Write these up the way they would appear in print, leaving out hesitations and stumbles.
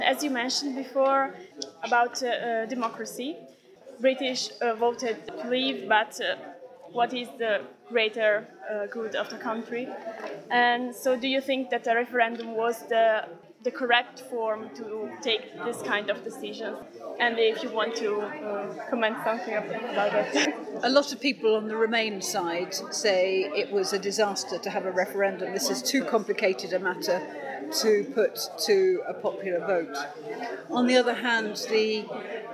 As you mentioned before about democracy, British voted to leave, but what is the greater good of the country? And so do you think that a referendum was the correct form to take this kind of decision? And if you want to comment something about it. A lot of people on the Remain side say it was a disaster to have a referendum. This is too complicated a matter to put to a popular vote. On the other hand, the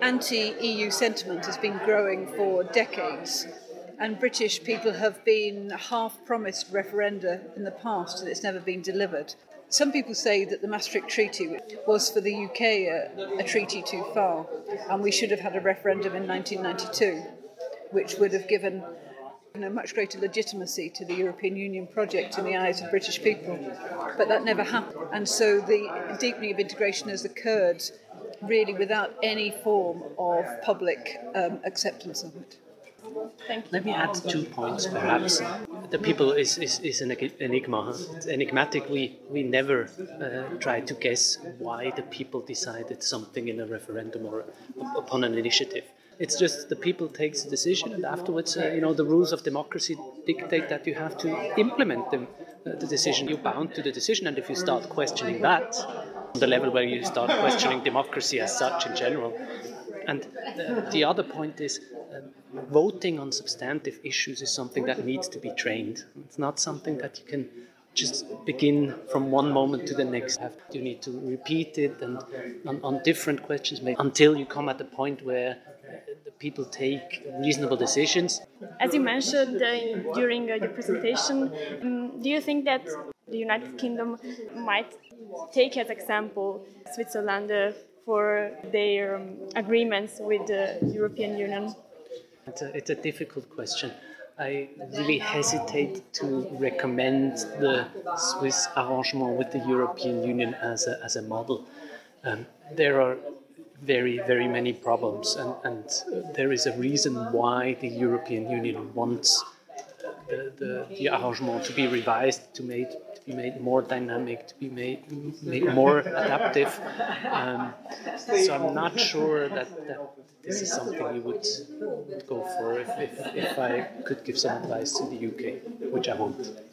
anti-EU sentiment has been growing for decades, and British people have been half-promised referenda in the past, and it's never been delivered. Some people say that the Maastricht Treaty was for the UK a treaty too far, and we should have had a referendum in 1992, which would have given much greater legitimacy to the European Union project in the eyes of British people. But that never happened. And so the deepening of integration has occurred really without any form of public acceptance of it. Thank you. Let me add 2 points, perhaps. The people is an enigma. It's enigmatic. We never try to guess why the people decided something in a referendum or upon an initiative. It's just the people takes a decision, and afterwards, the rules of democracy dictate that you have to implement the decision. You're bound to the decision, and if you start questioning that, on the level where you start questioning democracy as such in general. And the other point is, voting on substantive issues is something that needs to be trained. It's not something that you can just begin from one moment to the next. You need to repeat it and on different questions until you come at the point where the people take reasonable decisions. As you mentioned during your presentation, do you think that the United Kingdom might take as example Switzerland for their agreements with the European Union? It's a difficult question. I really hesitate to recommend the Swiss arrangement with the European Union as a model. There are very, very many problems, and there is a reason why the European Union wants the arrangement to be revised, to be made more dynamic, to be made more adaptive. So I'm not sure that this is something you would go for if I could give some advice to the UK, which I won't.